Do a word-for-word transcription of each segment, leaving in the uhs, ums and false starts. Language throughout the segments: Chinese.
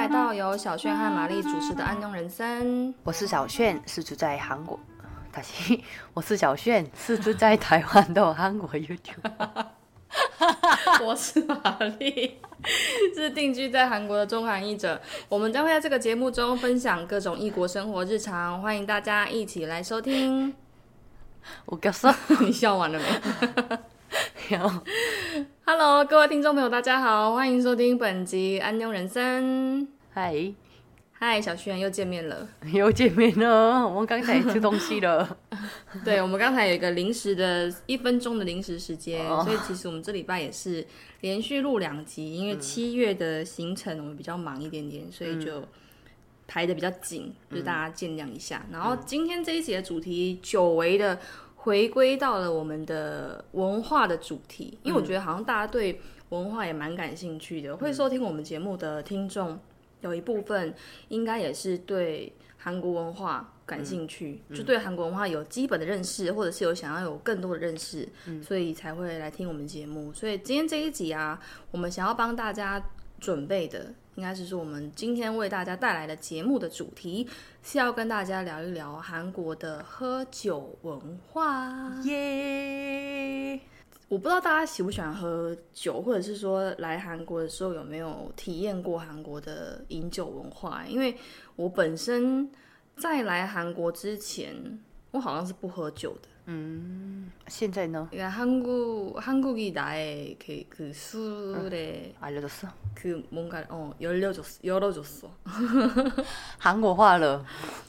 来到由小炫和玛丽主持的安庸人生。 我是小炫，是住在韩国。다시我是小炫，是住在台湾的韩国 YouTube。 我是玛丽，是定居在韩国的中韩译者。我们将会在这个节目中分享各种异国生活日常，欢迎大家一起来收听。 웃겼어？ 你笑完了没？Hello， 各位听众朋友，大家好，欢迎收听本集安庸人生。 嗨， 嗨，小轩又见面了， 又见面了，我们刚才吃东西了。 对，我们刚才有一个临时的一分钟的临时时间， 哦、 所以其实我们这礼拜也是连续录两集，因为七月的行程我们比较忙一点点，所以就排的比较紧，嗯、就是大家见谅一下。然后今天这一集的主题久违的回归到了我们的文化的主题，因为我觉得好像大家对文化也蛮感兴趣的，会收听我们节目的听众有一部分应该也是对韩国文化感兴趣，嗯、就对韩国文化有基本的认识，或者是有想要有更多的认识，嗯、所以才会来听我们节目。所以今天这一集啊，我们想要帮大家准备的，应该是说我们今天为大家带来的节目的主题是要跟大家聊一聊韩国的喝酒文化。 耶、yeah! 我不知道大家喜不喜欢喝酒，或者是说来韩国的时候有没有体验过韩国的饮酒文化？因为我本身在来韩国之前，我好像是不喝酒的。 嗯，现在呢？ 한국 한국이 나의 그, 그 술에 응, 알려줬어? 그 뭔가 어 열려줬어, 열어줬어. 韩国话了。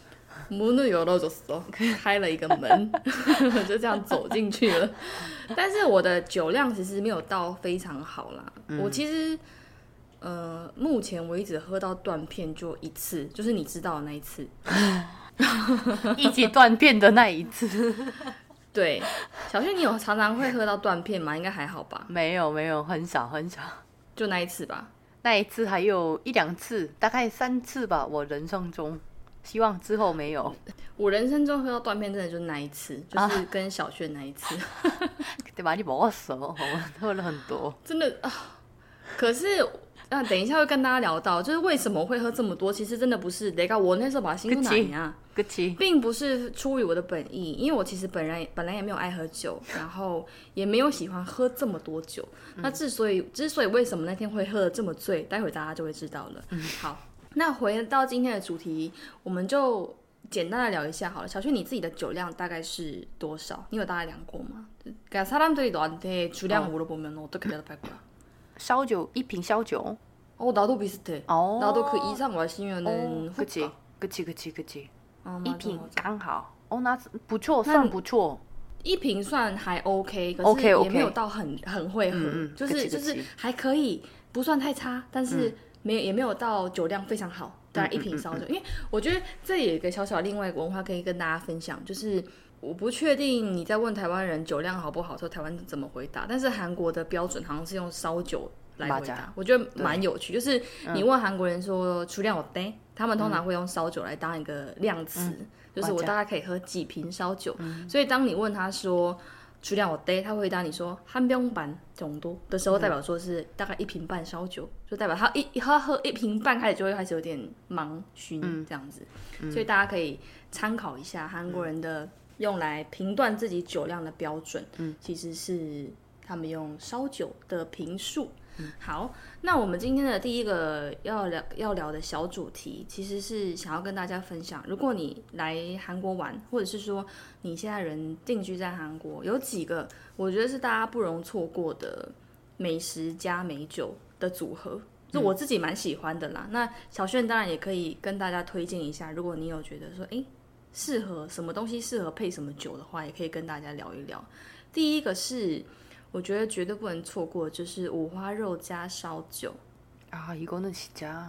문을 열어줬어， 开了一个门，就这样走进去了。但是我的酒量其实没有到非常好啦，嗯、我其实呃目前为止喝到断片就一次，就是你知道的那一次， 一起断片的那一次。 对，小轩，你有常常会喝到断片吗？应该还好吧？ 没有没有，很少很少， 就那一次吧。 那一次还有一两次，大概三次吧，我人生中。希望之后没有。 我人生中喝到断片真的就是那一次，就是跟小轩那一次。 对吧？你먹었어，我们喝了很多。 真的啊，可是啊，等一下会跟大家聊到，就是为什么会喝这么多。其实真的不是，내가我那时候把辛苦奶啊，并不是出于我的本意，因为我其实本来本来也没有爱喝酒，然后也没有喜欢喝这么多酒。嗯、那之所以之所以为什么那天会喝得这么醉，待会大家就会知道了。嗯、好。那回到今天的主題，我們就簡單的聊一下好了。小轩，你自己的酒量大概是多少？你有大概量過嗎？그러니까 사람들이 너한테 주량 물어보면 어떻게 대답할 거야? 燒酒一瓶燒酒? 어 나도 비슷해. 어. 나도 그 이상 마시면은 그치 그치 그치 그치. 어, 一瓶剛好. 어那不錯，算不錯。 一瓶算还 OK， 可是 OK OK， 也没有到很很会喝，嗯嗯就是就是还可以，不算太差，但是。嗯没有也没有到酒量非常好，大概一瓶烧酒。因为我觉得这也有一个小小另外一个文化可以跟大家分享，就是我不确定你在问台湾人酒量好不好的时候，台湾怎么回答，但是韩国的标准好像是用烧酒来回答，我觉得蛮有趣。就是你问韩国人说出量有杯，他们通常会用烧酒来当一个量词，嗯、就是我大概可以喝几瓶烧酒。嗯、所以当你问他说주량 어때？他会回答你说한병반 정도的时候，代表说是大概一瓶半烧酒，就代表他一他喝一瓶半开始就会开始有点忙醺这样子，嗯、所以大家可以参考一下韩国人的用来评断自己酒量的标准，嗯、其实是他们用烧酒的瓶数。好，那我们今天的第一个要聊要聊的小主题，其实是想要跟大家分享，如果你来韩国玩，或者是说你现在人定居在韩国，有几个我觉得是大家不容错过的美食加美酒的组合，就我自己蛮喜欢的啦。嗯、那小炫当然也可以跟大家推荐一下，如果你有觉得说，哎，适合什么东西适合配什么酒的话，也可以跟大家聊一聊。第一个是。我觉得绝对不能错过，就是五花肉加烧酒。 啊，이거는 진짜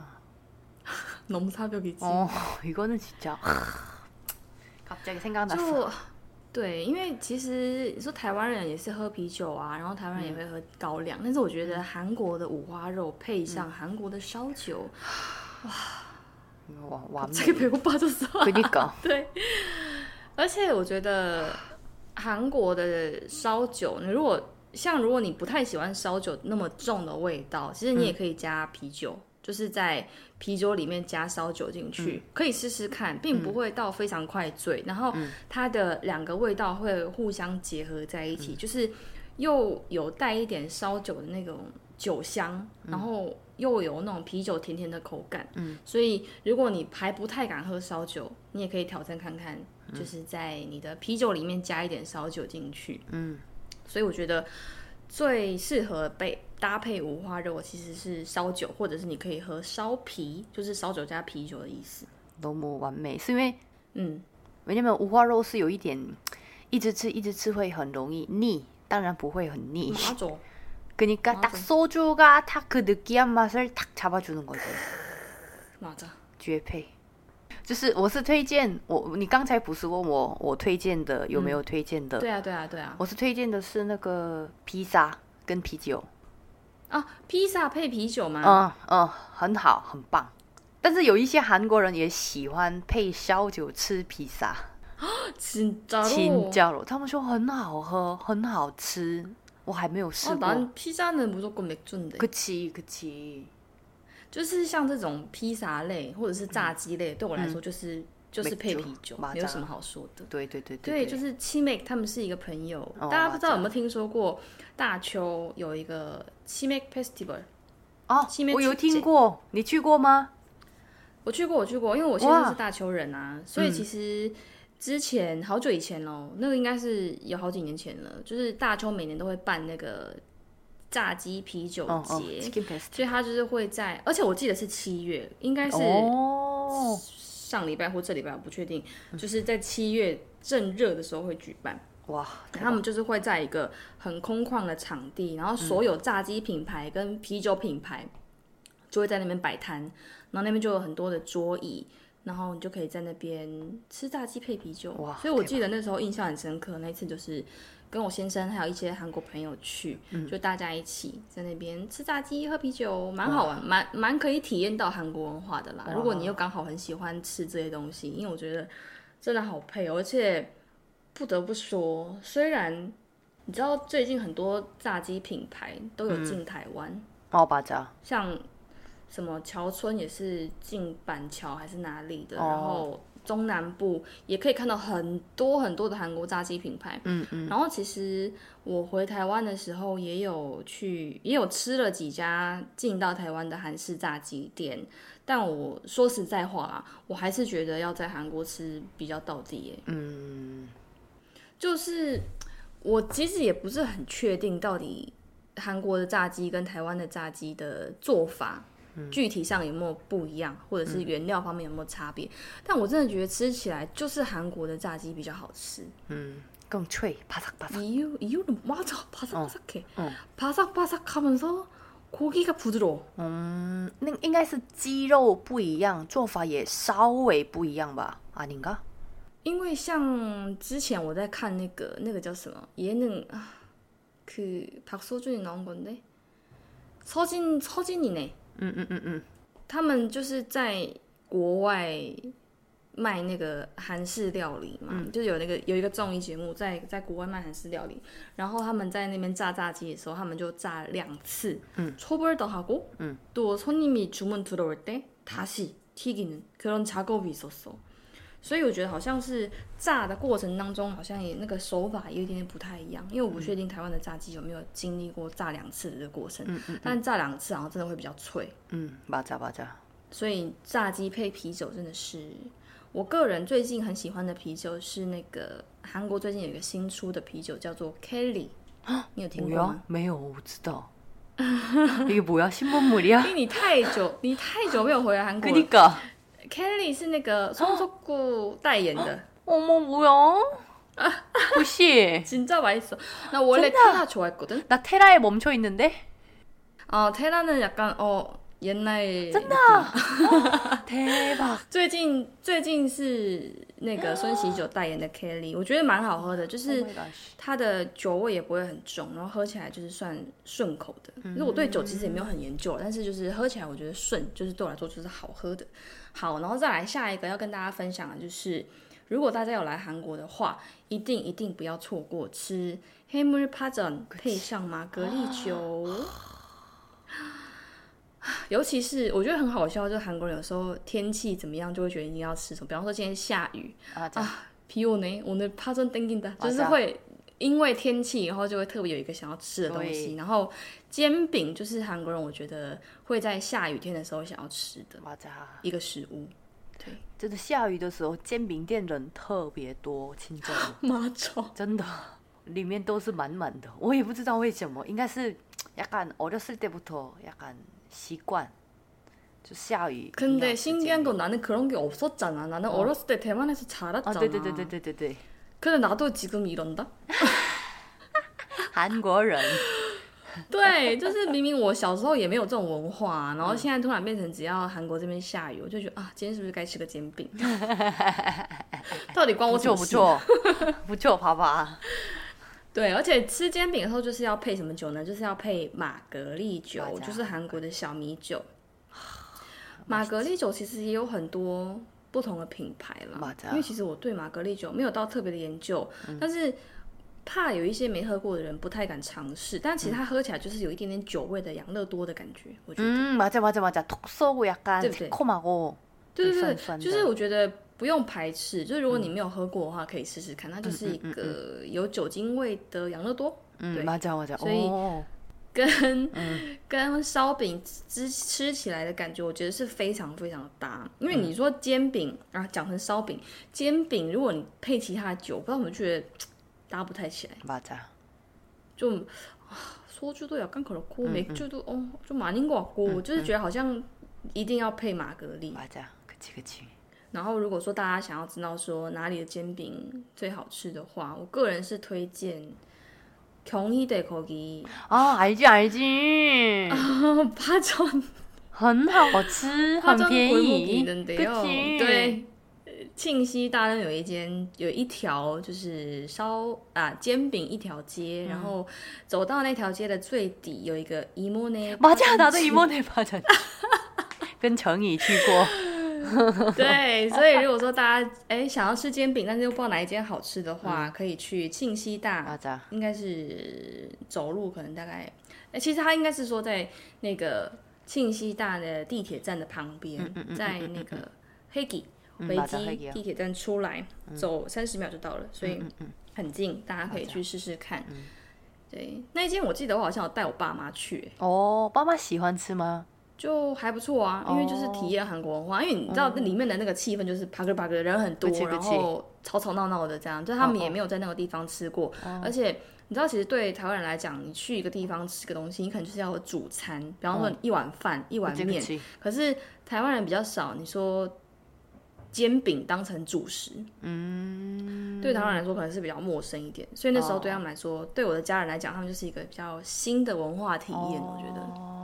너무 사벽이지. 어, 이거는 진짜 갑자기 생각났어. 就对，因为其实你说台湾人也是喝啤酒啊，然后台湾人也会喝高粱，嗯、但是我觉得韩国的五花肉配上韩国的烧酒，嗯、哇， 哇， 这个배고파졌어。 그러니까. 对，而且我觉得韩国的烧酒，你如果像如果你不太喜欢烧酒那么重的味道，其实你也可以加啤酒，嗯、 就是在啤酒里面加烧酒进去，嗯、可以试试看，并不会到非常快醉，嗯、然后它的两个味道会互相结合在一起，嗯、就是又有带一点烧酒的那种酒香，嗯、然后又有那种啤酒甜甜的口感，嗯、所以如果你还不太敢喝烧酒，你也可以挑战看看，嗯、就是在你的啤酒里面加一点烧酒进去，嗯，所以我觉得最适合被搭配五花肉其实是烧酒，或者是你可以喝烧啤，就是烧酒加啤酒的意思。 너무完美，是因为嗯，왜냐면五花肉是有一点一直吃一直吃会很容易腻，当然不会很腻。 맞아. 그러니까 딱 소주가 딱 그 느끼한 맛을 딱 잡아주는 거죠. 맞아. 绝配。就是我是推荐我，你刚才不是问我我推荐的有没有推荐的？ 嗯、对啊对啊对啊， 我是推荐的是那个披萨跟啤酒。 啊，披萨配啤酒吗？ 嗯嗯，很好，很棒。但是有一些韩国人也喜欢配烧酒吃披萨。 진짜로？ 진짜로，他们说很好喝，很好吃。我还没有试过。 아 난 피자는 무조건 맥주인데. 그치 그치。 就是像这种披萨类或者是炸鸡类，嗯、对我来说就是、嗯、就是配啤酒，没有什么好说的。 对对对对, 对，就是七妹他们是一个朋友，哦、大家不知道有没有听说过大邱有一个七妹 Festival？ 哦，我有听过，你去过吗？ 我去过，我去过，因为我现在是大邱人啊，所以其实之前、嗯、好久以前咯，那个应该是有好几年前了，就是大邱每年都会办那个炸鸡啤酒节，哦哦、所以他就是会在，而且我记得是七月，应该是上礼拜或这礼拜，我不确定，哦、就是在七月正热的时候会举办。哇！他们就是会在一个很空旷的场地，然后所有炸鸡品牌跟啤酒品牌就会在那边摆摊，然后那边就有很多的桌椅，然后你就可以在那边吃炸鸡配啤酒。哇！所以我记得那时候印象很深刻，那一次就是跟我先生还有一些韩国朋友去，嗯、就大家一起在那边吃炸鸡喝啤酒，蛮好玩，蛮蛮可以体验到韩国文化的啦。如果你又刚好很喜欢吃这些东西，因为我觉得真的好配哦，而且不得不说，虽然你知道最近很多炸鸡品牌都有进台湾， 嗯、哦，맞아， 像什么桥村也是进板桥还是哪里的，哦、然后中南部也可以看到很多很多的韩国炸鸡品牌。嗯嗯。然后其实我回台湾的时候也有去，也有吃了几家进到台湾的韩式炸鸡店，但我说实在话啦，我还是觉得要在韩国吃比较道地耶。嗯。就是我其实也不是很确定到底韩国的炸鸡跟台湾的炸鸡的做法、嗯、具体上有没有不一样，或者是原料方面有没有差别、嗯、但我真的觉得吃起来就是韩国的炸鸡比较好吃。 嗯，更脆，바삭바삭. 이유, 이유는 맞아, 바삭바삭해. 어, 어. 바삭바삭하면서 고기가 부드러워. 음, 应该是鸡肉不一样，做法也稍微不一样吧？ 아닌가？ 因为像之前我在看那个那个叫什么예능 그 박서준이 나온 건데 서진 서진이네. 嗯嗯嗯嗯， 他们就是在国外卖那个韩式料理嘛，嗯、就是有那个有一个综艺节目在在国外卖韩式料理，然后他们在那边炸炸鸡的时候，他们就炸两次，嗯，초벌도 하고， 嗯，또 손님이 주문 들어올 때 다시 튀기는 그런 작업이 있었어。所以我觉得好像是炸的过程当中，好像也那个手法有一点点不太一样，因为我不确定台湾的炸鸡有没有经历过炸两次的这个过程，嗯嗯嗯、但炸两次好像真的会比较脆。 嗯，맞아 맞아。所以炸鸡配啤酒真的是我个人最近很喜欢的啤酒，是那个韩国最近有一个新出的啤酒叫做 Kelly， 你有听过吗？ 没有，我不知道。이게 뭐야？신문물이야？ 因为你太久，你太久没有回来韩国了。 그러니까。 Kelly 是那个손석구代言的。 어머 뭐야? 무시. 진짜 맛있어. 나 원래 테라 좋아했거든. 나 테라에 멈춰 있는데. 어 테라는 약간 어 옛날. 真的. 대박. 最近最近是那个孙喜酒代言的 Kelly， 我觉得蛮好喝的，就是它的酒味也不会很重，然后喝起来就是算顺口的。因为我对酒其实也没有很研究，但是就是喝起来我觉得顺，就是对我来说就是好喝的。好，然后再来下一个要跟大家分享的就是，如果大家有来韩国的话，一定一定不要错过吃해물파전配上玛格丽酒。 尤其是我觉得很好笑，就是韩国人有时候天气怎么样，就会觉得一定要吃什么。比方说今天下雨啊，비 오네 오늘 파전 땡긴다，就是会因为天气以后就会特别有一个想要吃的东西。然后煎饼就是韩国人我觉得会在下雨天的时候想要吃的一个食物。对， 真的下雨的时候，煎饼店人特别多，清真的， 妈超真的。里面都是满满的，我也不知道为什么，应该是약간어렸을때부터약간習惯就下雨。 근데 신기한 건 나는 그런 게 없었잖아. 나는 어. 어렸을 때 대만에서 자랐잖아. 아, 네네네네네네. 근데 나도 지금 이런다? 韩国人对，就是明明我小时候也没有这种文化，然后现在突然变成只要韩国这边下雨，我就觉得啊，今天是不是该吃个煎饼？到底关我什么事？ 不错不错，不错，爸爸。 对，而且吃煎饼的时候就是要配什么酒呢？就是要配玛格丽酒，就是韩国的小米酒。玛格丽酒其实也有很多不同的品牌啦，因为其实我对玛格丽酒没有到特别的研究，嗯、但是怕有一些没喝过的人不太敢尝试。但其实它喝起来就是有一点点酒味的养乐多的感觉，我觉得。 嗯，맞아맞아맞아톡쏘고약간새콤하고 对对对，就是我觉得。不用排斥，就是如果你没有喝过的话，可以试试看。它就是一个有酒精味的养乐多， 嗯，对，맞아 맞아。 所以跟、嗯、跟烧饼吃吃起来的感觉，我觉得是非常非常的搭。因为你说煎饼啊，讲成烧饼，煎饼如果你配其他的酒，不知道我们觉得搭不太起来。 맞아。 就소주도 약간 그렇고 맥주도 어 좀 아닌 것 같고，就是觉得好像一定要配玛格丽。 맞아，그치 그치。 然后如果说大家想要知道说哪里的煎饼最好吃的话，我个人是推荐경희대 거기。 啊，알지 알지。 파전 很好吃，很便宜。 对，庆熙大人有一间有一条就是烧啊煎饼一条街，嗯、然后走到那条街的最底有一个이모네。 맞아，나도 이모네 파전。跟程宇去过。 对，所以如果说大家哎想要吃煎饼，但是又不知道哪一间好吃的话，嗯、可以去庆熙大，应该是走路可能大概，哎，其实他应该是说在那个庆熙大的地铁站的旁边，嗯嗯嗯、在那个黑吉维基地铁站出来，嗯、走三十秒就到了，所以很近，大家可以去试试看。嗯、对，那一间我记得我好像有带我爸妈去。 哦，爸妈喜欢吃吗？ 就还不错啊，因为就是体验韩国文化， oh. 因为你知道里面的那个气氛就是啪个啪个人很多，然后吵吵闹闹的这样，就他们也没有在那个地方吃过， oh. 而且你知道其实对台湾人来讲，你去一个地方吃个东西，你可能就是要有主餐，比方说一碗饭、oh. 一碗面，可是台湾人比较少，你说煎饼当成主食，嗯，对台湾人来说可能是比较陌生一点，所以那时候对他们来说， oh. 对我的家人来讲，他们就是一个比较新的文化体验， oh. 我觉得。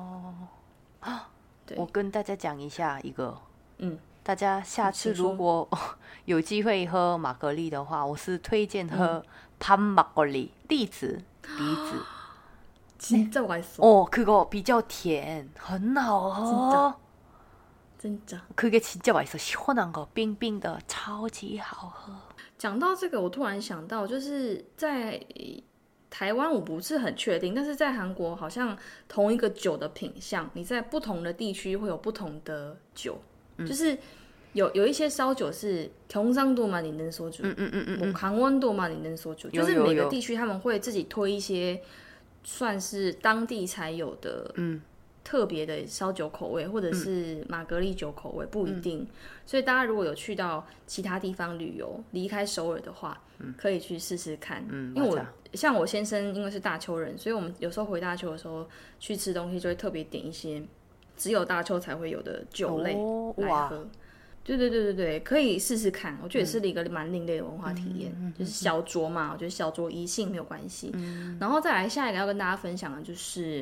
我跟大家讲一下一个，嗯，大家下次如果有机会喝玛格丽的话，我是推荐喝pan 막걸리，栗子，梨子， 진짜 맛있어。 哦，그거比较甜，很好喝。 真的， 그게 진짜 맛있어， 시원한 거，冰冰的，超级好喝。 讲到这个，我突然想到，就是在台湾我不是很确定，但是在韩国好像同一个酒的品项，你在不同的地区会有不同的酒，嗯、就是有有一些烧酒是경상도 만 있는 소주， 嗯嗯嗯嗯，강원도 만 있는 소주， 就是每个地区他们会自己推一些算是当地才有的，嗯。特别的烧酒口味，或者是玛格丽酒口味，不一定。嗯、所以大家如果有去到其他地方旅游，离开首尔的话，嗯、可以去试试看。嗯、因为我像我先生，因为是大邱人，所以我们有时候回大邱的时候去吃东西，就会特别点一些只有大邱才会有的酒类来喝。哦、对对对对对，可以试试看。我觉得也是一个蛮另类的文化体验，嗯、就是小酌嘛，我觉得小酌宜兴没有关系。嗯、然后再来下一个要跟大家分享的就是。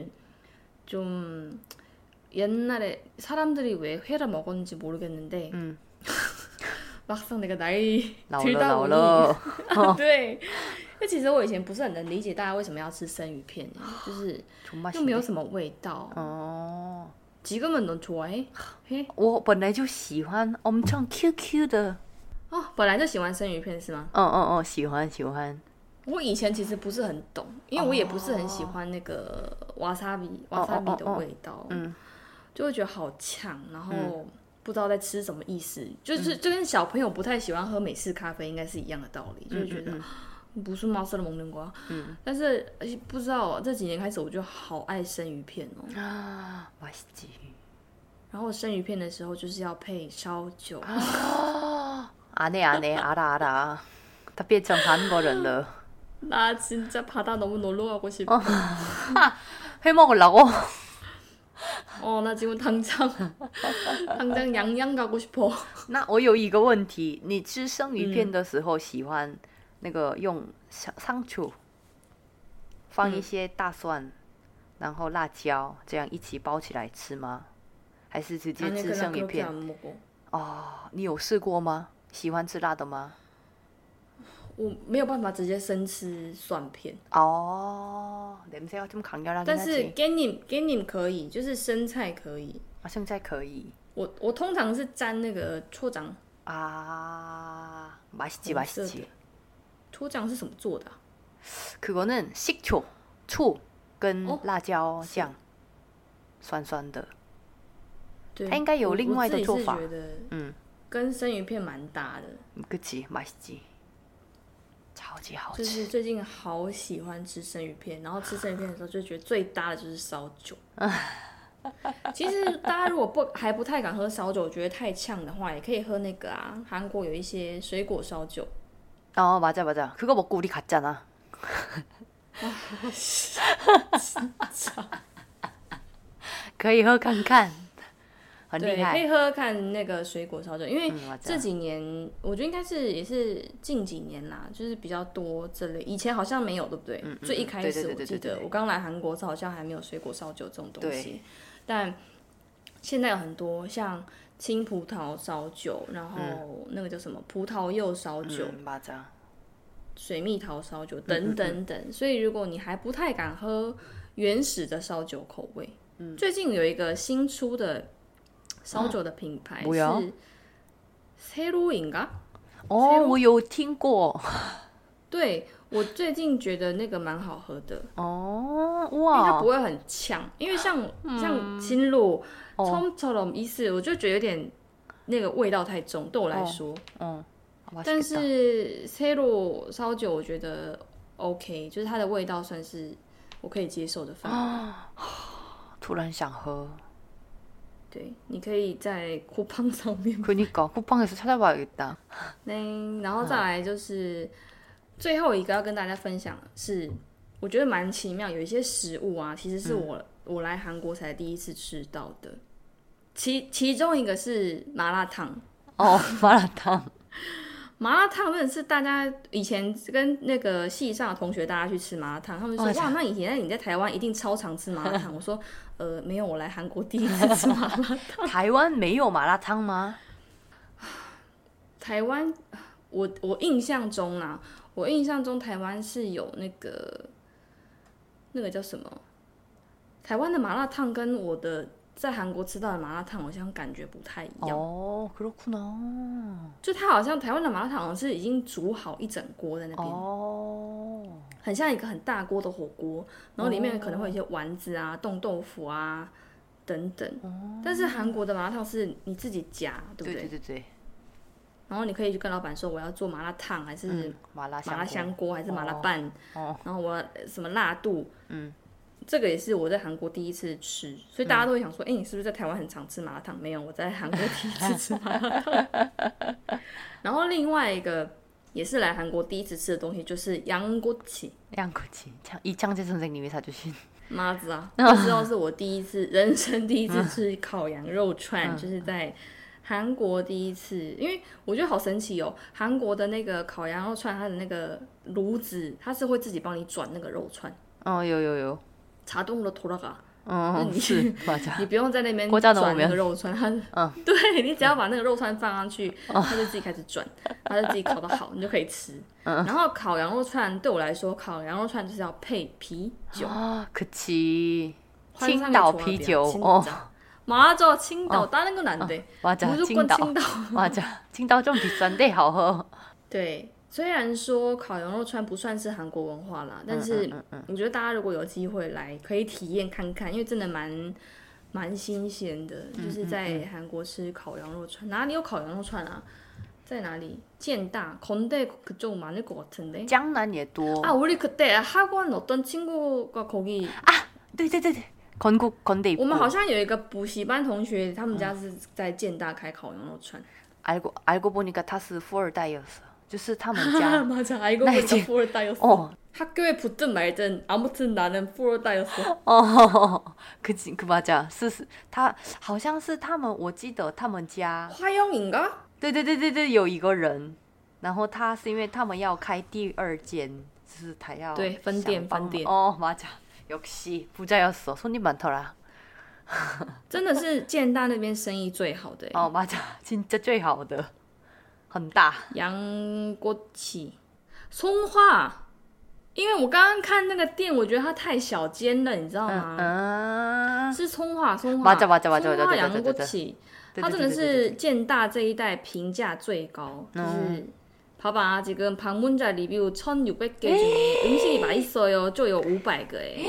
좀 옛날에 사람들이 왜 회를 먹었는지 모르겠는데 음. 막상 내가 나이 들다 보니 对，那其实我以前不是很能理解大家为什么要吃生鱼片，就是又没有什么味道。哦， 지금은 넌 좋아해? 해? 我本来就喜欢 엄청 Q Q 的。 哦，本来就喜欢生鱼片是吗？ 嗯嗯嗯，喜欢喜欢。 我以前其实不是很懂，因为我也不是很喜欢那个瓦萨比瓦萨比的味道。嗯， 就会觉得好呛，然后不知道在吃什么意思，嗯、就是就跟小朋友不太喜欢喝美式咖啡应该是一样的道理，嗯、就是觉得。嗯嗯嗯不是马色的蒙牛瓜，嗯，但是不知道这几年开始，我就好爱生鱼片哦。 啊，맛있지。 然后生鱼片的时候就是要配烧酒。 啊，안해안해알아알아，他变成韩国人了。 나 진짜 바다 너무 놀러 가고 싶어. 회 먹으려고? 어, 나 지금 당장 당장 양양 가고 싶어. 那我有一个问题，你吃生鱼片的时候喜欢？那个用상추放一些大蒜、嗯、然后辣椒这样一起包起来吃吗？还是直接吃生鱼片？哦，你有试过吗？喜欢吃辣的吗？ 我没有办法直接生吃蒜片。 哦，냄새가 좀 강렬하긴 하지。 但是给你给你可以，就是生菜可以。 啊，生菜可以。 我我通常是沾那个초장。 啊，맛있지맛있지。 초장是什么做的、啊？ 그거는 식초, 醋跟辣椒酱，酸酸的。 对， 它应该有另外的做法。 我自己是觉得，嗯，跟生鱼片蛮搭的。 그치，맛있지，超级好吃。 就是最近好喜欢吃生鱼片，然后吃生鱼片的时候就觉得最搭的就是烧酒。其实大家如果不还不太敢喝烧酒，觉得太呛的话，也可以喝那个啊，韩国有一些水果烧酒。 어 맞아 맞아 그거 먹고 우리 갔잖아. 아, 진짜. 可以喝看看，很厉害。 对，可以喝喝看那个水果烧酒，因为这几年、嗯、我觉得应该是也是近几年啦，就是比较多这类，以前好像没有，对不对？嗯、最一开始我记得我刚来韩国时好像还没有水果烧酒这种东西，但现在有很多像。 青葡萄烧酒，然后那个叫什么葡萄柚烧酒， 嗯、 水蜜桃烧酒等等等。嗯嗯嗯所以如果你还不太敢喝原始的烧酒口味，嗯、最近有一个新出的烧酒的品牌是 새로인가？ 哦，我有听过。对， 我最近觉得那个蛮好喝的。 哦，哇！ 因为它不会很呛，因为像、嗯、像青露。 처음처럼意思我就觉得有点那个味道太重，对我来说。嗯。但是 새로烧酒我觉得 OK， 就是它的味道算是我可以接受的范围。 突然想喝。 对，你可以在쿠팡上面。 그니까 쿠팡에서 찾아봐야겠다。 네，然后再来就是最后一个要跟大家分享的是，我觉得蛮奇妙，有一些食物啊，其实是我、嗯。 我来韩国才第一次吃到的，其其中一个是麻辣烫哦，麻辣烫， 麻辣烫真的是大家以前跟那个系上的同学大家去吃麻辣烫，他们说、哦、哇，那以前你在台湾一定超常吃麻辣烫。我说呃没有，我来韩国第一次吃麻辣烫。 台湾没有麻辣烫吗？ 台湾，我我印象中啦，我印象中台湾是有那个那个叫什么？ 台湾的麻辣烫跟我的在韩国吃到的麻辣烫好像感觉不太一样。 哦，그렇구나。 就它好像台湾的麻辣烫好像是已经煮好一整锅在那边。 哦。很像一个很大锅的火锅，然后里面可能会有一些丸子啊、冻豆腐啊等等。哦。但是韩国的麻辣烫是你自己夹，对不对？ 对对对对。 然后你可以去跟老板说我要做麻辣烫，还是麻辣麻辣香锅，还是麻辣拌。哦。然后我什么辣度？嗯。 这个也是我在韩国第一次吃，所以大家都会想说，哎、嗯，欸，你是不是在台湾很常吃麻辣烫？没有，我在韩国第一次吃麻辣烫。然后另外一个也是来韩国第一次吃的东西，就是양꼬치。 양꼬치， 이창재 선생님이 사주신。 妈子啊，那时候是我第一次人生第一次吃烤羊肉串，嗯、就是在韩国第一次，因为我觉得好神奇哦，韩国的那个烤羊肉串，它的那个炉子，它是会自己帮你转那个肉串。 哦，有有有。 자동으로 돌아가。 嗯，是， 你不用在那边转那个肉串，它，嗯，对你只要把那个肉串放上去，它就自己开始转，它就自己烤得好，你就可以吃。然后烤羊肉串对我来说，烤羊肉串就是要配啤酒。 啊，그치。 青岛啤酒哦。 맞아,青岛, 다른 건 안 돼. 맞아, 무조건青岛. 맞아, 青岛좀 비싼데 好喝。对。 虽然说烤羊肉串不算是韩国文化啦，但是我觉得大家如果有机会来，可以体验看看，因为真的蛮蛮新鲜的，就是在韩国吃烤羊肉串。哪里有烤羊肉串啊？在哪里？建大, 건대 그쪽 많을 것 같은데. 江南也多. 아, 우리 그때 학원 어떤 친구가 거기. 아, 对对对对, 건국 건대 입구. 我们好像有一个补习班同学，他们家是在建大开烤羊肉串。 알고 알고 보니까他是富二代였어. 就是他们家. 맞아, 알고 보니까富二代였어. 어. 학교에 붙든 말든 아무튼 나는富二代였어. 어, 그치, 그 맞아. 是他好像是他们，我记得他们家 화영인가? 对对对对对，有一个人，然后他是因为他们要开第二间，就是他要对分店分店。 哦，맞아，역시 부자였어， 손님 많더라。 真的是建大那边生意最好的。 哦，맞아， 진짜最好的，很大。 양꼬치，松花。因为我刚刚看那个店，我觉得它太小间了，你知道吗？ 嗯， 是葱花，葱花， 맞아 맞아 맞아， 葱花羊锅起，它真的是建大这一代评价最高，就是봐봐 지금 방문자 리뷰 천육백 개 중에 음식이 맛있어요就有五百个哎，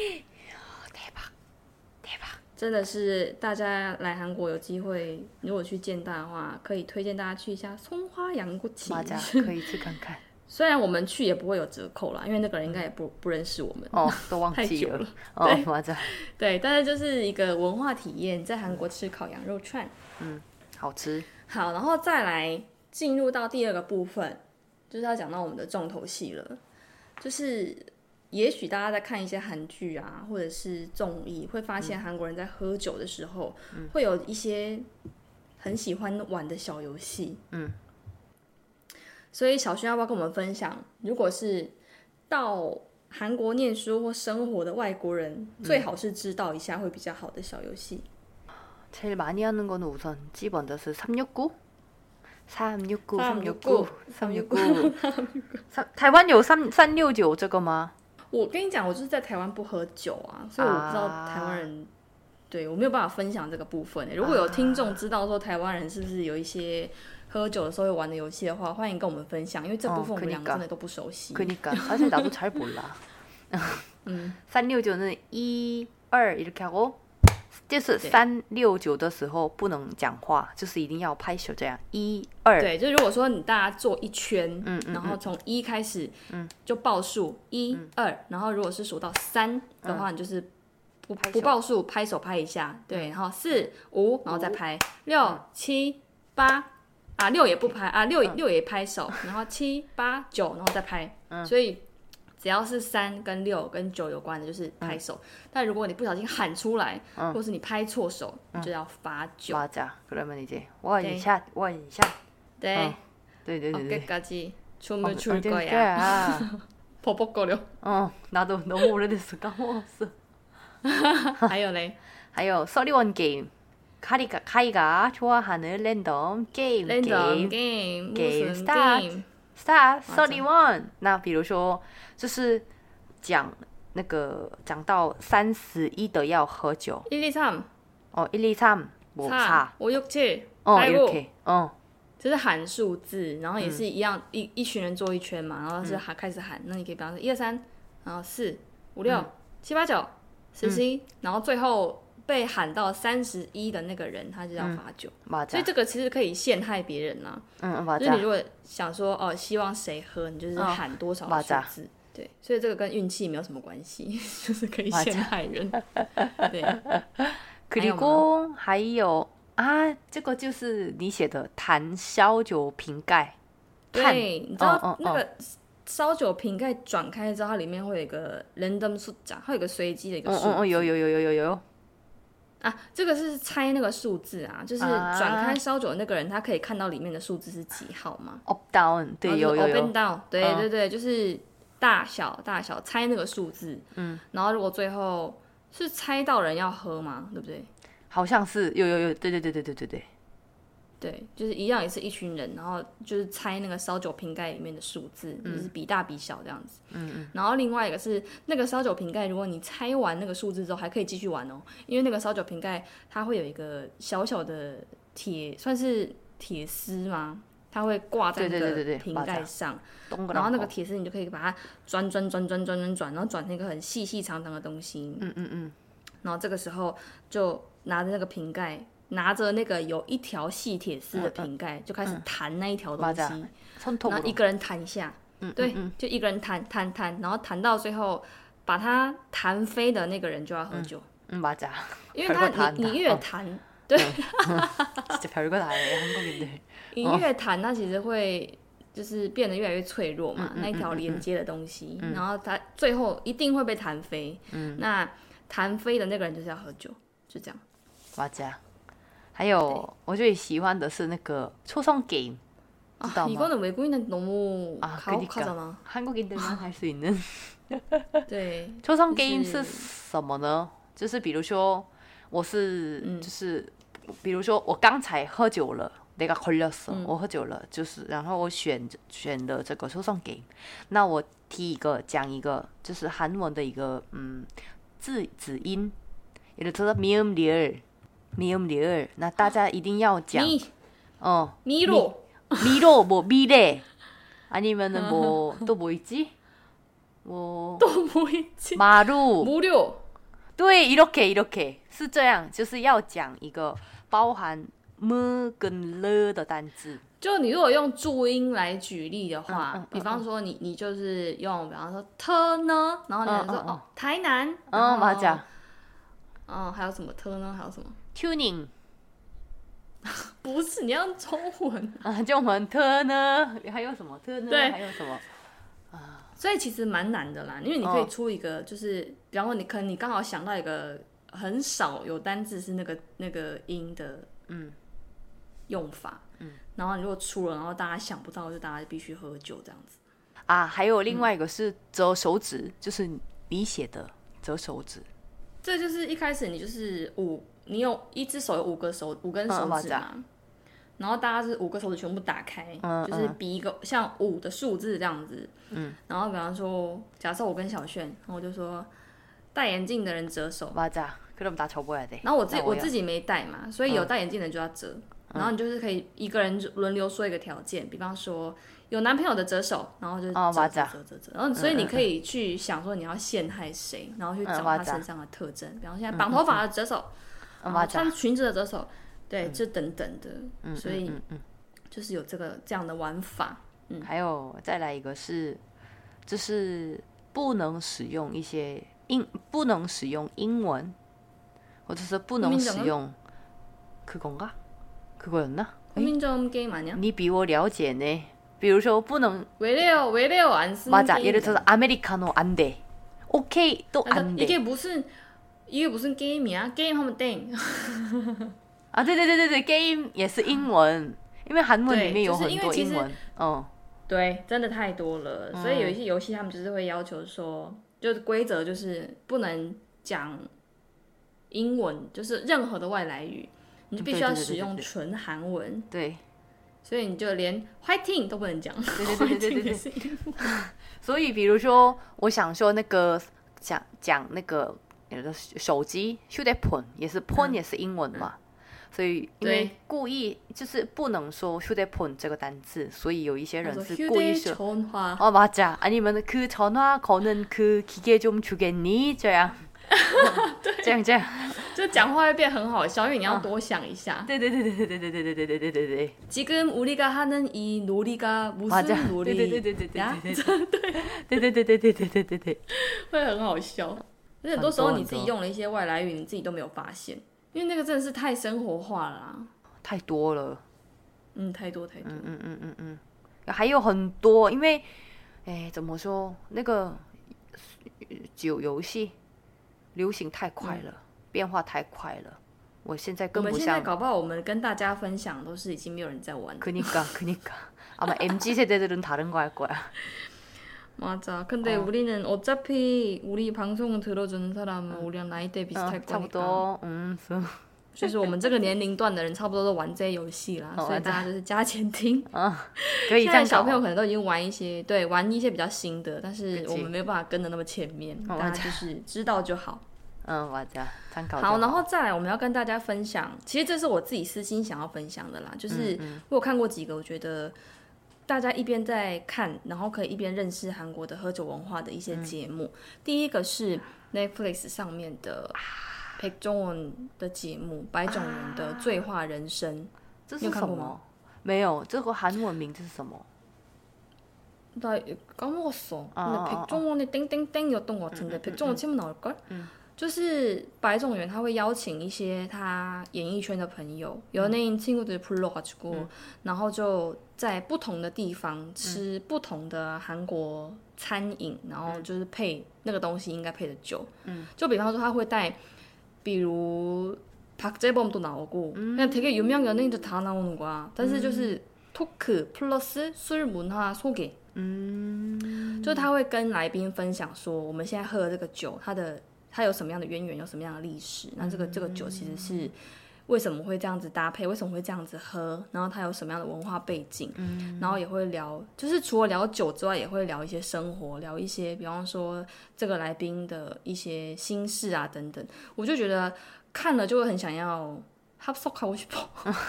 대박 대박， 真的是大家来韩国有机会，如果去建大的话，可以推荐大家去一下葱花羊锅起， 맞아， 可以去看看。 虽然我们去也不会有折扣啦，因为那个人应该也不不认识我们哦，都忘记了。哦，맞아。 对，但是就是一个文化体验，在韩国吃烤羊肉串， 嗯，好吃。 好，然后再来进入到第二个部分，就是要讲到我们的重头戏了。就是也许大家在看一些韩剧啊，或者是综艺，会发现韩国人在喝酒的时候，嗯、会有一些很喜欢玩的小游戏。嗯。所以小薰要不要跟我们分享，如果是到韩国念书或生活的外国人，嗯、最好是知道一下会比较好的小游戏。 제일 많이 하는 거는 우선 집어넣어서 삼육구? 삼육구, 삼육구, 삼육구.台湾有三三六九这个吗？ 我跟你讲，我就是在台湾不喝酒啊，所以我不知道台湾人，对我没有办法分享这个部分。如果有听众知道说台湾人是不是有一些喝酒的时候会玩的游戏的话，欢迎跟我们分享，因为这部分我们两个真的都不熟悉。 그러니까 사실 나도 잘 몰라. 嗯，三六九는一二이렇게 하고. 就是三六九的时候不能讲话，就是一定要拍手这样一二。 对，就如果说你大家做一圈，嗯，然后从一开始，嗯，就报数一二，然后如果是数到三的话，你就是不不报数，拍手拍一下，对，然后四五，然后再拍六七八啊，六也不拍啊，六六也拍手，然后七八九，然后再拍，所以。 只要是三跟六跟九有关的，就是拍手。嗯、但如果你不小心喊出来，嗯、或是你拍错手，你就要罚酒。 맞아。그러면 이제 원샷 원샷。 对， 嗯、对对对对。 어깨까지 춤을 출 거야. 버벅거려. 어, 나도 너무 오래됐어 까먹었어. 还有嘞， 还有서리원 게임. 카이가 카이가 좋아하는 랜덤 게임. 랜덤 게임. 게임 무슨 게임. Start thirty-one。那比如说，就是讲那个讲到三十一的要喝酒。 一二三。 哦，一二三，我差。 五六七。 哦 ，OK， 哦， 就是喊数字，然后也是一样，嗯、一一群人坐一圈嘛，然后是喊、嗯、开始喊。那你可以比方说一二三，然后四五六七八九十十一，然后最后。 被喊到三十一的那个人，他就要罚酒， 嗯、 所以这个其实可以陷害别人呐、啊。嗯，就是你如果想说哦，希望谁喝，你就是喊多少数字，嗯、对，所以这个跟运气没有什么关系，就是可以陷害人。对。 그리고还有啊，这个就是你写的弹烧酒瓶盖。 对，你知道那个烧酒瓶盖转开之后，它里面会有一个 random 数字，它有一个随机的一个数字。 嗯嗯，有有有有有有。 啊，这个是猜那个数字啊，就是转开烧酒的那个人，他可以看到里面的数字是几号吗 ？Up down， 对，有有有。 Up and down， 对、嗯、对对，就是大小大小猜那个数字。嗯，然后如果最后是猜到人要喝吗？对不对？ 好像是，有有有，对对对对对对对。 对，就是一样，也是一群人，然后就是猜那个烧酒瓶盖里面的数字，嗯、就是比大比小这样子。嗯嗯。然后另外一个是那个烧酒瓶盖，如果你猜完那个数字之后，还可以继续玩哦，因为那个烧酒瓶盖它会有一个小小的铁，算是铁丝吗？它会挂在那个瓶盖上，然后那个铁丝你就可以把它转转转转转转转，然后转成一个很细细长长的东西。嗯嗯嗯。然然后这个时候就拿着那个瓶盖，拿着那个有一条细铁丝的瓶盖，就开始弹那一条东西，然后一个人弹一下，对，就一个人弹弹弹，然后弹到最后把它弹飞的那个人就要喝酒。 嗯，맞아。 因为他你你越弹，对， 진짜 별거 다 해 한국인들。 你越弹，它其实会就是变得越来越脆弱嘛，那一条连接的东西，然后它最后一定会被弹飞。那弹飞的那个人就是要喝酒，就这样。 맞아。还有我最喜欢的是那个초성 게임， 知道吗？ 이거는 외국인은 너무 가혹하잖아. 한국인들만 할 수 있는。 对， 초성 게임是什么呢？就是比如说我是、嗯、就是比如说我刚才喝酒了， 내가 걸렸어、嗯、我喝酒了，就是然后我选选的这个抽送game，那我提一个讲一个就是韩文的一个嗯字子音，也就是미음 리을 미음 리을，那大家一定要讲어 미로 미로 뭐 미래 아니면은 뭐 또 뭐 있지? 뭐 또 뭐 있지? 마루 무료。 对，이렇게 이렇게是这样，就是要讲一个包含么跟了的单字。 就你如果用注音来举例的话，嗯嗯、比方说你你就是用，比方说特呢，然后你就说、嗯嗯、哦台南， 嗯，맞아， 嗯，还有什么特呢？还有什么 tuning？ 不是，你要用中文啊，中文特呢？还有什么特呢？ 对， 还有什么？ 所以其实蛮难的啦，因为你可以出一个，就是、哦、比方说你可能你刚好想到一个很少有单字是那个那个音的用法，嗯，然后你如果出了，然后大家想不到，就大家必须喝酒这样子。 啊，还有另外一个是折手指，嗯、就是你写的折手指。 这就是一开始你就是五，你有一只手有五个手五根手指嘛。嗯，然后大家是五个手指全部打开，嗯、就是比一个像五的数字这样子。嗯，然后比方说，假设我跟小炫，然后我就说戴眼镜的人折手。 맞아。그럼 다 접어야 돼。 然后我自己我自己没戴嘛，所以有戴眼镜的人就要折。嗯、然后你就是可以一个人轮流说一个条件，比方说有男朋友的折手，然后就折折折折折。然后所以你可以去想说你要陷害谁，然后去找他身上的特征，比方说现在绑头发的折手，然后穿裙子的折手。对，这等等的，嗯、所以、嗯嗯、就是有这个这样的玩法。嗯， 还有再来一个是，就是不能使用一些英，不能使用英文，或者是不能使用그건가？그거였나？ 국민점 게임 아니야？ 你比我了解呢。比如说不能 왜래요 왜래요 안 쓰는 맞아. 예를 들어서 아메리카노 안 돼. 오케이 또 안 돼. 이게 무슨 이게 무슨 게임이야? 게임하면 땡. 啊，对对对对对 ，game 也是英文，因为韩文里面有很多英文，嗯， 对，真的太多了，所以有一些游戏他们就是会要求说，就是规则就是不能讲英文，就是任何的外来语，你就必须要使用纯韩文， 对， 所以你就连 fighting 都不能讲， 对对对对对对对。所以比如说，我想说那个讲讲那个手机 휴대폰也是 폰 也是英文嘛。嗯，所以因为故意就是不能说 휴대폰 这个单字，所以有一些人是故意说哦맞아 아니면 그 전화 거는 그 기계 좀 주겠니这样这样这样就讲话会变很好笑，因为你要多想一下。 对对对对对对对对对对对对对。 지금 우리가 하는 이 놀이가 무슨 놀이？ 对对对对对对对对对对对对对对， 会很好笑。而且很多时候你自己用了一些外来语，你自己都没有发现。因为那个真的是太生活化了啦， 太多了， 嗯，太多太多， 嗯嗯嗯嗯嗯，还有很多，因为，哎，怎么说，那个酒游戏流行太快了，嗯、变化太快了，我现在跟不上。 我们现在搞不好，我们跟大家分享都是已经没有人在玩。 그니까 그니까 아마 엠지 세대들은 다른 거 할 거야. 맞아. 근데 어. 우리는 어차피 우리 방송을 들어주는 사람은 응. 우리랑 나이대 비슷할 어, 거니까. 음, 就是我们这个年龄段的人差不多都玩这些游戏啦， 어, 所以大家就是加减听。 哦，可以这样。现在小朋友可能都已经玩一些，对，玩一些比较新的，但是我们没有办法跟得那么前面，大家就是知道就好。 嗯，我知道，参考。 好，然后再来，我们要跟大家分享，其实这是我自己私心想要分享的啦，就是我有看过几个，我觉得。大家一边在看，然后可以一边认识韩国的喝酒文化的一些节目。嗯、第一个是 Netflix 上面的 백종원的节目《白种人的醉话人生》， 这是什么？没有，这个韩文名字是什么？ 나 까먹었어. 근데 아, 백종원의 땡땡땡이었던 것 같은데 음, 음, 백종원 치면 나올걸? 음. 就是白种元他会邀请一些他演艺圈的朋友、연예인 친구들 불러가지고、嗯、然后就在不同的地方吃不同的韩国餐饮、嗯、然后就是配那个东西应该配的酒、嗯、就比方说他会带比如박재범도 나오고 음. 그냥 되게 유명 연예인들 다 나오는 거야. 但是就是 토크 플러스 술 문화 소개 嗯，就他会跟来宾分享说我们现在喝的这个酒它的它有什么样的渊源，有什么样的历史，那这个这个酒其实是为什么会这样子搭配，为什么会这样子喝，然后它有什么样的文化背景、嗯、然后也会聊，就是除了聊酒之外也会聊一些生活，聊一些比方说这个来宾的一些心事啊等等，我就觉得看了就会很想要합석하고 싶어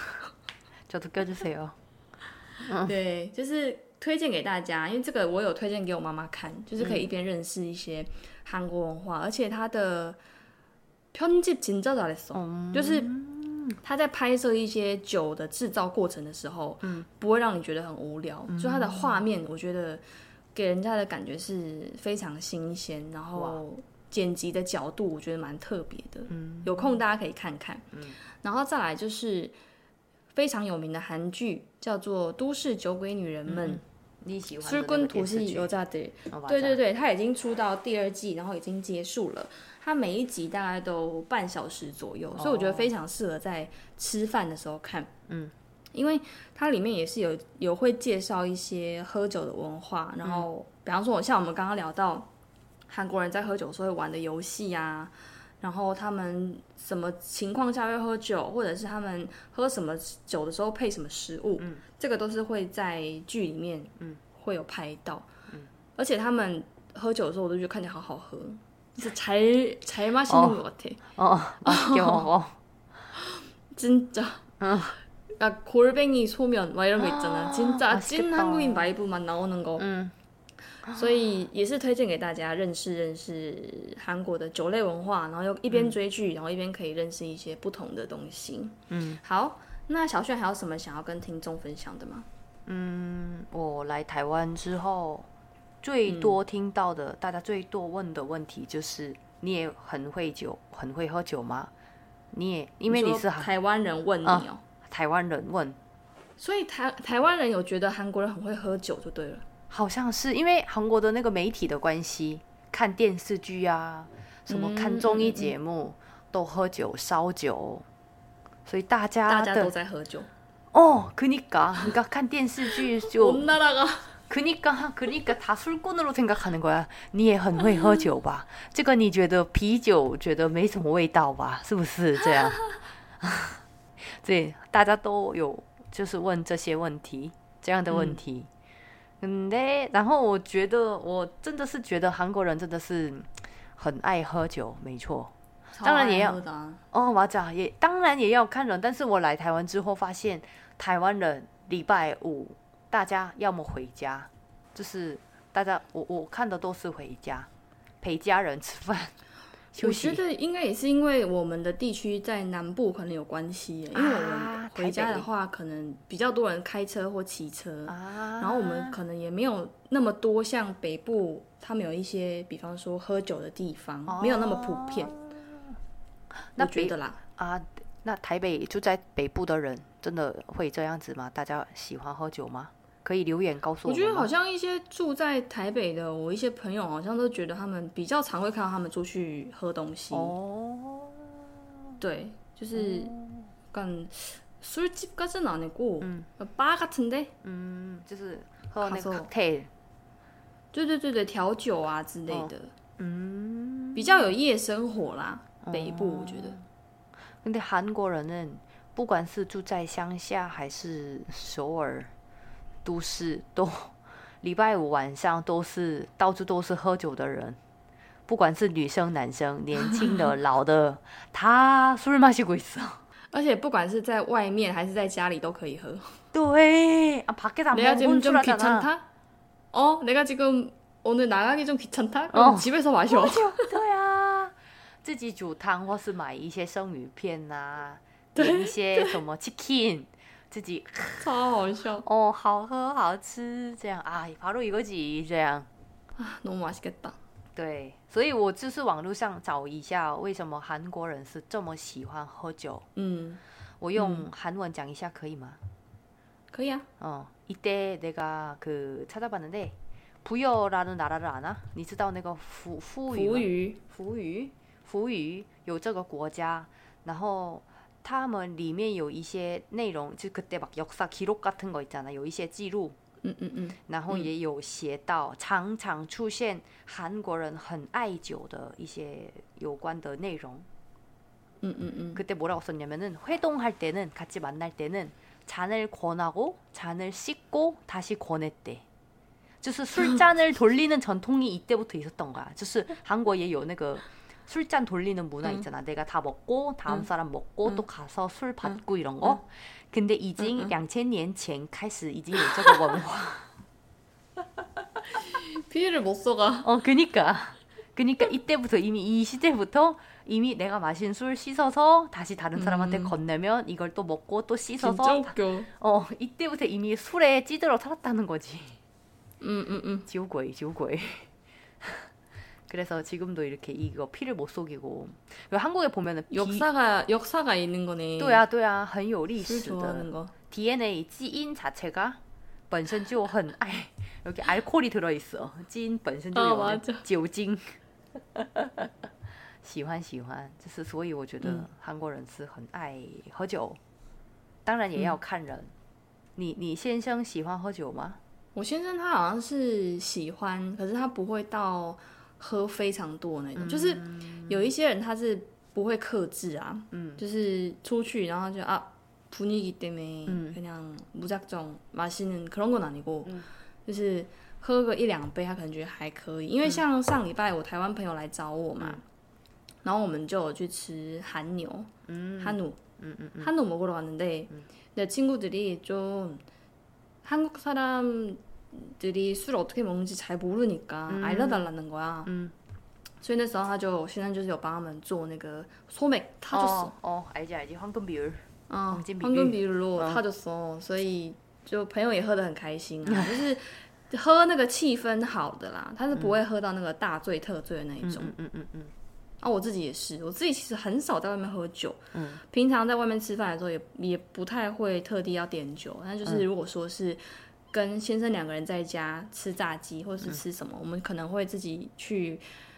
저도 껴주세요 对，就是推荐给大家，因为这个我有推荐给我妈妈看，就是可以一边认识一些韩国文化、嗯、而且他的편집 진짜 잘했어、嗯、就是他在拍摄一些酒的制造过程的时候、嗯、不会让你觉得很无聊、嗯、就他的画面我觉得给人家的感觉是非常新鲜，然后剪辑的角度我觉得蛮特别的、嗯、有空大家可以看看、嗯、然后再来就是非常有名的韩剧叫做《都市酒鬼女人们》， 你喜欢的那个电视剧？ 对对对，它已经出到第二季，然后已经结束了。它每一集大概都半小时左右，所以我觉得非常适合在吃饭的时候看。嗯，因为它里面也是有有会介绍一些喝酒的文化，然后、嗯、比方说像我们刚刚聊到韩国人在喝酒的时候会玩的游戏啊。然后他们什么情况下会喝酒，或者是他们喝什么酒的时候配什么食物、嗯、这个都是会在剧里面会有拍到、嗯、而且他们喝酒的时候我都觉得看起来好好喝，就是잘 잘 마시는 것 같아. 어, 맛있게 먹어. 진짜. 그러니까 골뱅이 소면 막 이런 거 있잖아. 진짜 찐 한국인 바이브만 나오는 거. 음. 所以也是推荐给大家认识认识韩国的酒类文化，然后又一边追剧、嗯、然后一边可以认识一些不同的东西。嗯，好，那小炫还有什么想要跟听众分享的吗？ 嗯，我来台湾之后最多听到的、嗯、大家最多问的问题就是你也很会酒很会喝酒吗？你也因为你是台湾人问你哦、啊、 台湾人问， 所以台台湾人有觉得韩国人很会喝酒就对了。 好像是因为韩国的那个媒体的关系，看电视剧啊，什么看综艺节目、嗯嗯嗯、都喝酒烧酒，所以大家大家都在喝酒。 哦，그니까 그러니까看电视剧就온 나라가 그니까 그니까 다 술꾼으로 생각하는 거야. 你也很会喝酒吧？这个你觉得啤酒觉得没什么味道吧？是不是这样？对，大家都有就是问这些问题，这样的问题。嗯嗯，对，然后我觉得我真的是觉得韩国人真的是很爱喝酒，没错。当然也要哦，我讲也当然也要看人，但是我来台湾之后发现，台湾人礼拜五大家要么回家，就是大家我我看的都是回家陪家人吃饭。 我觉得应该也是因为我们的地区在南部可能有关系耶，因为我们回家的话可能比较多人开车或骑车、啊、然后我们可能也没有那么多像北部他们有一些比方说喝酒的地方、哦、没有那么普遍。 那我觉得啦啊，那台北住在北部的人真的会这样子吗？大家喜欢喝酒吗？可以留言告诉我们吗？我觉得好像一些住在台北的我一些朋友好像都觉得他们比较常会看到他们出去喝东西。哦，对，就是약간 술집까지는 아니고 음. 바 같은데? 음, 就是喝那个 cocktail. 对对对对，调酒啊之类的。嗯，比较有夜生活啦，北部我觉得。 근데韩国人呢，不管是住在乡下还是首尔都市，都礼拜五晚上都是到处都是喝酒的人，不管是女生男生，年轻的老的，다 술 마시고 있어。 而且不管是在外面还是在家里都可以喝。 对，아 밖에 다 내가 지금 좀 귀찮다? 어, 내가 지금 오늘 나가기 좀 귀찮다? 그럼 어. 집에서 마셔. 对啊， 自己煮汤或是买一些生鱼片啊，点一些什么 chicken， 自己超好笑哦，好喝好吃，这样啊，바로 이거지这样啊，너무 맛있겠다。 对，所以我就是网络上找一下，为什么韩国人是这么喜欢喝酒。 嗯， 我用韩文讲一下可以吗？ 可以啊。 어, 이때 내가 그 찾아봤는데 부여라는 나라를 아나? 你知道那个福福语吗？ 福语福语福语有这个国家，然后他们里面有一些内容，就그때 막 역사 기록 같은 거 있잖아， 有一些记录。 嗯嗯嗯， 然后也有写到常常出现韩国人很爱酒的一些有关的内容。 음, 음, 음. 그때 뭐라고 썼냐면은 회동할 때는 같이 만날 때는 잔을 권하고 잔을 씻고 다시 권했대. 就是술 잔을 돌리는 전통이 이때부터 있었던 거야. 就是韩国也有那个 술잔 돌리는 문화 있잖아. 응. 내가 다 먹고 다음 응. 사람 먹고 응. 또 가서 술 받고 응. 이런 거. 응. 근데 已经两千年前开始已经有这个文化. 피해를 못 써가. 어, 그니까. 그니까 이때부터 이미 이 시대부터 이미 내가 마신 술 씻어서 다시 다른 사람한테 음. 건네면 이걸 또 먹고 또 씻어서. 진짜 웃겨. 어, 이때부터 이미 술에 찌들어 살았다는 거지. 음, 음, 음. 지우고이, 지우고이. 그래서 지금도 이렇게 이거 피를 못 속이고. 한국에 보면은 비... 역사가 역사가 있는 거네. 对啊对啊很有历史的 술 좋아하는 거. 디엔에이 基因 자체가 本身就很爱 여기 알코올이 들어 있어. 基因本身就有酒精. 喜欢喜欢就是所以我觉得韩国人是很爱喝酒，当然也要看人。你你先生喜欢喝酒吗？ 我先生他好像是喜欢，可是他不会到喝非常多那种，就是有一些人他是不会克制啊，就是出去然后就啊분위기 때문에 그냥 무작정 마시는 그런 건 아니고，就是喝个一两杯他可能觉得还可以，因为像上礼拜我台湾朋友来找我嘛，然后我们就有去吃韩牛，한우，한우 먹으러 갔는데 내 친구들이 좀 한국 사람들이 술 어떻게 먹는지 잘 모르니까 알려달라는 거야.所以那时候他就现在就是有帮他们做那个소맥 타줬어. 어, 알지 알지 황금 비율. 어, 황금 비율로 타줬어. 所以就朋友也喝得很开心啊，就是喝那个气氛好的啦，他是不会喝到那个大醉特醉的那一种。嗯嗯嗯嗯。啊，我自己也是，我自己其实很少在外面喝酒，嗯，平常在外面吃饭的时候也也不太会特地要点酒，但就是如果说是跟先生两个人在家吃炸鸡或是吃什么，嗯、我们可能会自己去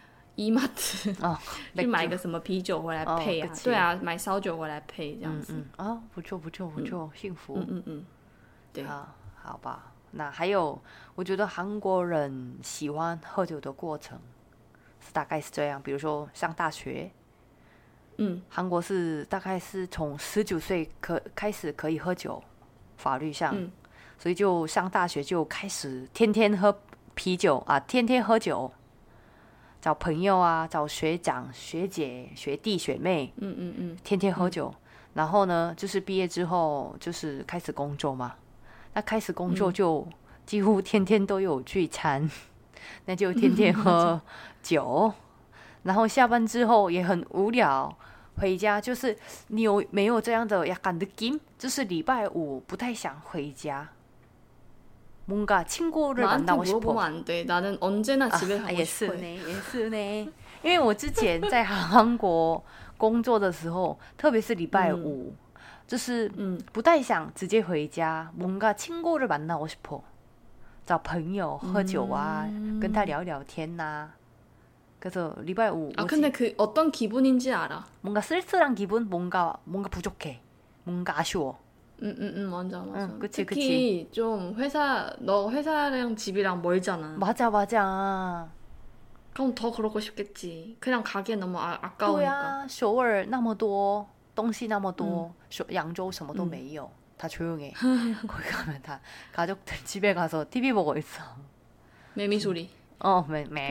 이마트哦，去买个什么啤酒回来配啊，哦、对啊，买烧酒回来配这样子。 嗯嗯，哦，不错不错不错，嗯、幸福。 嗯嗯嗯，对， 好，好吧。那还有，我觉得韩国人喜欢喝酒的过程。大概是这样，比如说上大学，嗯，韩国是大概是从十九岁可开始可以喝酒，法律上，嗯、所以就上大学就开始天天喝啤酒啊，天天喝酒，找朋友啊，找学长、学姐、学弟、学妹，嗯嗯嗯，天天喝酒。嗯、然后呢，就是毕业之后就是开始工作嘛，那开始工作就几乎天天都有聚餐。那就天天喝酒，然后下班之后也很无聊，回家就是你有没有这样的약간 느낌？就是礼拜五不太想回家，뭔가 친구를 만나고 싶어。 물어보면 안 돼， 나는 언제나 집에 가고 싶어。 也是呢，也是呢，因为我之前在韩国工作的时候，特别是礼拜五，就是不太想直接回家，뭔가 친구를 만나고 싶어。找朋友喝酒啊，嗯、跟他聊聊天呐、啊。 그래서礼拜五 아 근데 그 어떤 기분인지 알아. 뭔가 쓸쓸한 기분, 뭔가 뭔가 부족해, 뭔가 아쉬워. 응응응 음, 음, 맞아 맞아. 응, 그치, 특히 그치. 좀 회사 너 회사랑 집이랑 멀잖아. 맞아 맞아. 그럼 더 그러고 싶겠지. 그냥 가기엔 너무 아, 아까우니까. 首尔那么多东西那么多，扬州什么都没有。 다 조용해. 거기 가면 다 가족들 집에 가서 티비 보고 있어. 매미 소리. 어,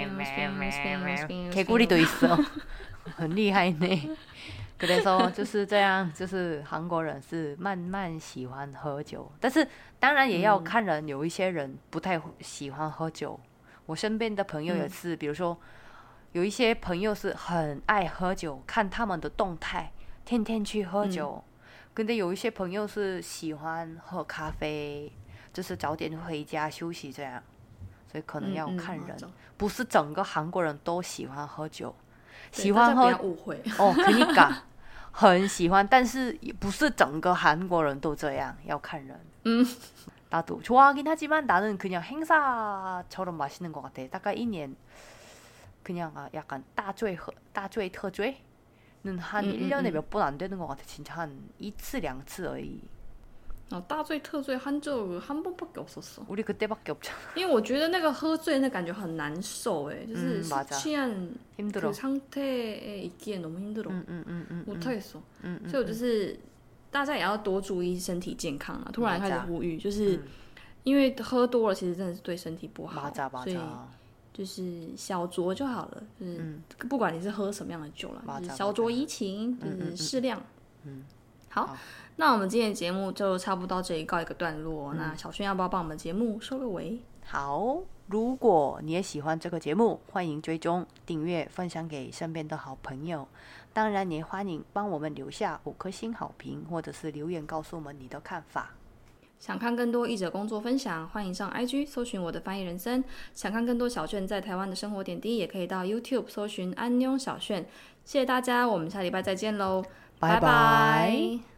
매매매매. 개구리도 있어. 很厉害呢. 그래서 就是这样，就是韩国人是慢慢喜欢喝酒，但是当然也要看人，有一些人不太喜欢喝酒。我身边的朋友也是，比如说有一些朋友是很爱喝酒，看他们的动态，天天去喝酒。可是有一些朋友是喜欢喝咖啡，就是早点回家休息这样。所以可能要看人，不是整个韩国人都喜欢喝酒。喜欢喝误会哦，그러니까很喜欢，但是也不是整个韩国人都这样，要看人。 嗯。 나도 좋아하긴 하지만 나는 그냥 행사처럼 마시는 것 같아. 다가 일 년 그냥 약간 따죄 따죄特죄는 한 음, 일 년에 음, 몇 번 안 되는 것 같아. 진짜 한 이츠两次而已. 어, 大醉特醉한 적 한 번밖에 없었어. 우리 그때밖에 없잖아. 因为我觉得那个喝醉那感觉很难受哎，就是 음, 취한 힘들어. 그 상태에 있기에 너무 힘들어. 음, 음, 음, 음, 못하겠어. 음, 음, 所以我就是大家也要多注意身体健康啊。突然开始呼吁，就是因为喝多了其实真的是对身体不好，所以就是小酌就好了，就是不管你是喝什么样的酒啦，就是小酌怡情，就是适量。嗯，好，那我们今天的节目就差不多到这里告一个段落。那小轩要不要帮我们节目收个尾？ 好，如果你也喜欢这个节目，欢迎追踪、订阅、分享给身边的好朋友。当然，也欢迎帮我们留下五颗星好评，或者是留言告诉我们你的看法。 想看更多译者工作分享，欢迎上 I G 搜寻我的翻译人生。想看更多小炫在台湾的生活点滴，也可以到 YouTube 搜寻安妞小炫。谢谢大家，我们下礼拜再见喽，拜拜。